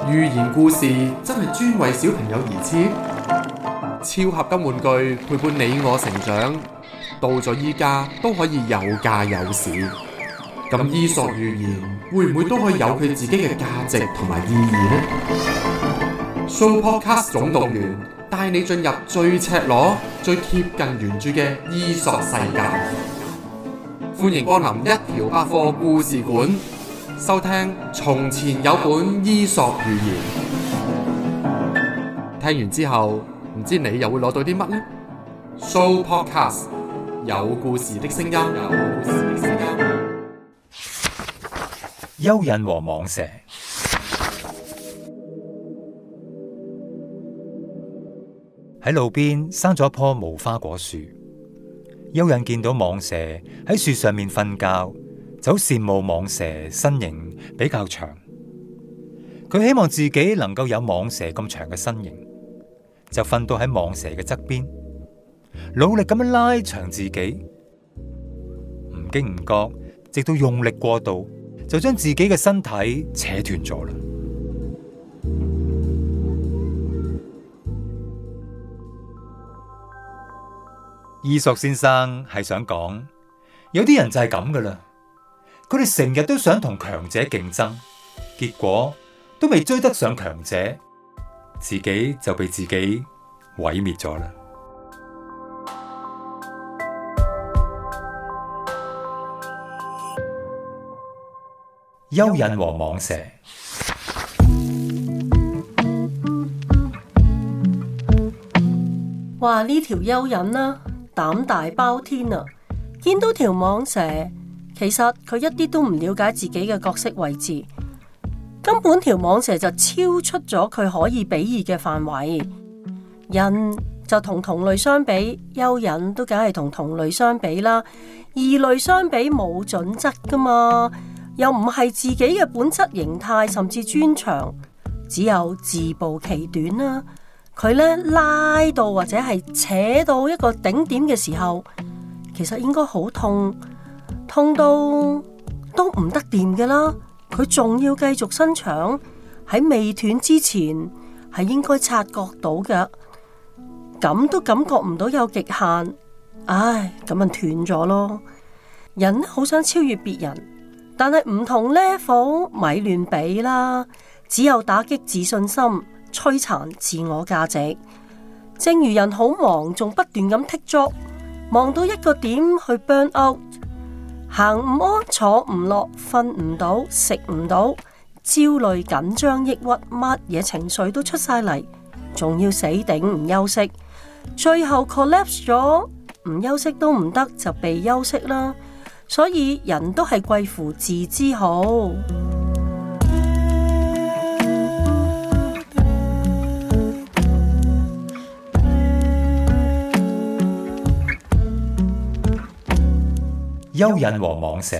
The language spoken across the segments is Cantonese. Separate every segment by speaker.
Speaker 1: 寓言故事真係專為小朋友而設，超合金玩具陪伴你我成長，到咗依家都可以有價有市。咁伊索寓言會唔會都可以有佢自己嘅價值同埋意義呢？ Sooopodcast 總動員帶你進入最赤裸、最貼近原著嘅伊索世界。歡迎光臨一條百貨故事館，收聽從前有本伊索寓言。聽完之後，唔知你又會攞到啲乜呢？ Sooopodcast 有故事的聲音。
Speaker 2: 蚯蚓和蟒蛇。喺路邊生咗一棵無花果樹，蚯蚓見到蟒蛇喺樹上面瞓覺，就好羨慕蟒蛇身形比較長。佢希望自己能夠有蟒蛇咁長嘅身形，就瞓到喺蟒蛇嘅側邊，努力咁樣拉長自己。唔經唔覺，直到用力過度，就將自己嘅身體扯斷咗啦。伊索先生係想講，有啲人就係咁噶啦，佢哋成日都想同強者競爭，結果都未追得上強者，自己就被自己毀滅咗啦。蚯蚓和蟒蛇。
Speaker 3: 話呢條蚯蚓啦，膽大包天啊！見到條蟒蛇，其實佢一啲都唔了解自己嘅角色位置，根本條蟒蛇就超出咗佢可以比擬嘅範圍。人就同同類相比，蚯蚓都梗係同同類相比啦。異類相比冇準則噶嘛，又唔係自己嘅本質形態，甚至專長，只有自暴其短啦。佢咧拉到或者係扯到一個頂點嘅時候，其實應該好痛，痛到都唔得掂嘅啦。佢仲要繼續伸長，喺未斷之前係應該察覺到嘅，咁都感覺唔到有極限，唉，咁咪斷咗咯。人好想超越別人，但係唔同 level 咪亂比啦，只有打擊自信心，摧殘自我價值。正如人好忙，仲不斷咁剔足，忙到一個點去 burn out， 行唔安，坐唔落，瞓唔到，食唔到，焦慮、緊張、抑鬱，乜嘢情緒都出晒嚟，仲要死頂唔休息，最後 collapse 咗，唔休息都唔得，就被休息啦。所以人都係貴乎自知好。
Speaker 2: 蚯蚓和蟒蛇。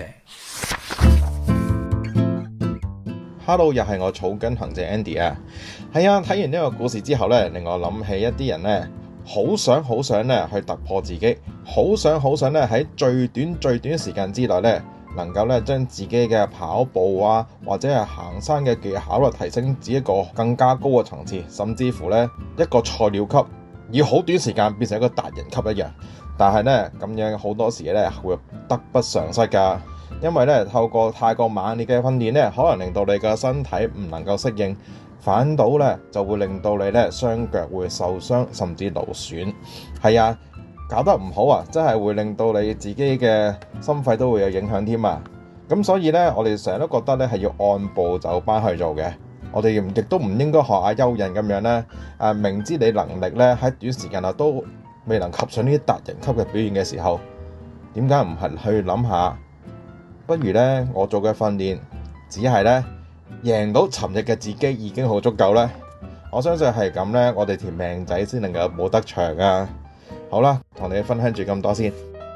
Speaker 4: Hello， 又係我草根行者 Andy 啊。係啊，睇完呢個故事之後呢，令我諗起一啲人呢，好想呢去突破自己，好想呢喺最短時間之內呢，能夠呢將自己嘅跑步啊，或者係行山嘅技巧提升至一個更加高嘅層次，甚至乎呢一個菜鳥級，以好短時間變成一個達人級一樣。但係呢，咁樣好多時呢會得不償失㗎，因為呢透過太過猛烈嘅訓練呢，可能令到你嘅身體唔能夠適應，反倒呢就會令到你呢雙腳會受傷，甚至勞損。係啊，搞得唔好啊，真係會令到你自己嘅心肺都會有影響添啊。咁所以呢，我哋成日都覺得呢係要按部就班去做嘅。我哋亦都唔應該學下蚯蚓咁樣呢，明知你能力呢喺短時間內都未能及上呢啲達人級嘅表現嘅時候，點解唔係去諗下？不如呢，我做嘅訓練只係呢贏到尋日嘅自己已經好足夠呢。我相信係咁呢，我哋條命仔先能夠冇得長啊！好啦，同你分享住咁多先。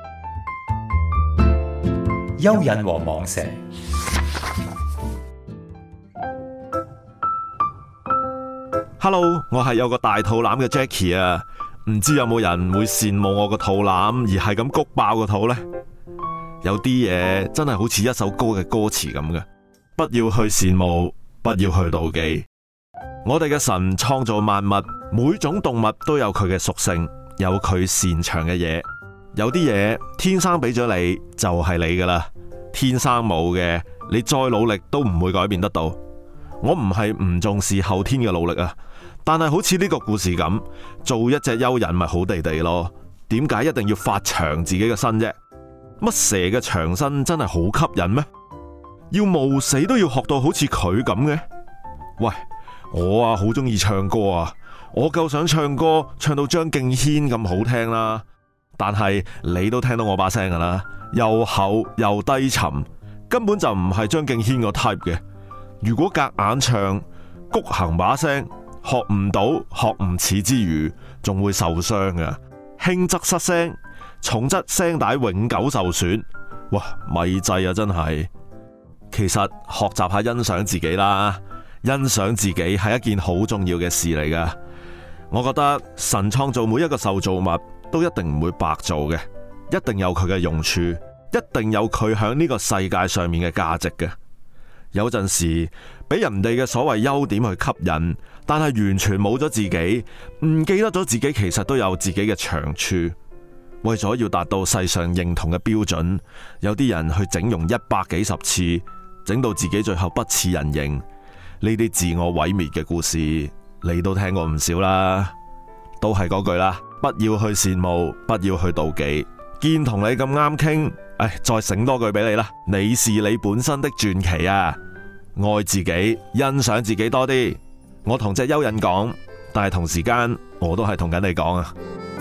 Speaker 2: 蚯蚓和蟒蛇。
Speaker 5: Hello， 我係有個大肚腩嘅 Jackie 啊。唔知有冇人會羨慕我個肚腩而係咁谷爆個肚呢？有啲嘢真係好似一首歌嘅歌詞咁嘅，不要去羨慕，不要去妒忌， 我哋嘅神創造萬物，每種動物都有佢嘅屬性，有佢擅長嘅嘢。有啲嘢天生俾咗你，就係你噶啦。天生冇嘅，你再努力都唔會改變得到。我唔係唔重視後天嘅努力啊，但係好似呢個故事咁，做一隻蚯蚓咪好地地咯。點解一定要發長自己嘅身啫？乜蛇嘅長身真係好吸引咩？要冒死都要學到好似佢咁嘅？喂，我啊好中意唱歌啊，我夠想唱歌唱到張敬軒咁好聽啦。但係你都聽到我把聲噶啦，又厚又低沉，根本就唔係張敬軒個 type 嘅。如果夾硬唱，谷行把聲，學唔到，學唔似之餘，仲會受傷㗎。輕則失聲，重則聲帶永久受損。哇，咪制啊，真係。其實學習下欣賞自己啦，欣賞自己係一件好重要嘅事嚟噶。我覺得神創造每一個受造物都一定唔會白做嘅，一定有佢嘅用處，一定有佢響呢個世界上面嘅價值嘅。有陣時俾人哋嘅所謂優點去吸引，但係完全冇咗自己，唔記得咗自己其實都有自己嘅長處。為咗要達到世上認同嘅標準，有啲人去整容100幾十次，整到自己最後不似人形。呢啲自我毀滅嘅故事，你都聽過唔少啦。都係嗰句啦，不要去羨慕，不要去妒忌。見同你咁啱傾，再醒多句俾你啦。你是你本身的傳奇啊！愛自己，欣賞自己多啲。我同隻蚯蚓講，但係同時間我都係同緊你講啊。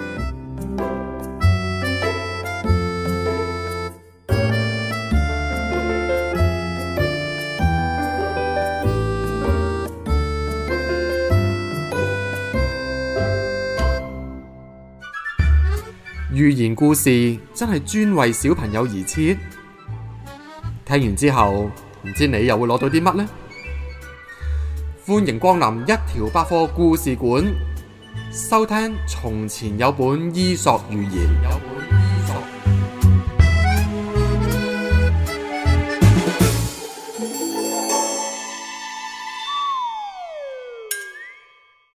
Speaker 1: 寓言故事真係專為小朋友而設，聽完之後唔知你又會攞到啲乜呢？歡迎光臨一條百貨故事館，收聽從前有本伊索寓言。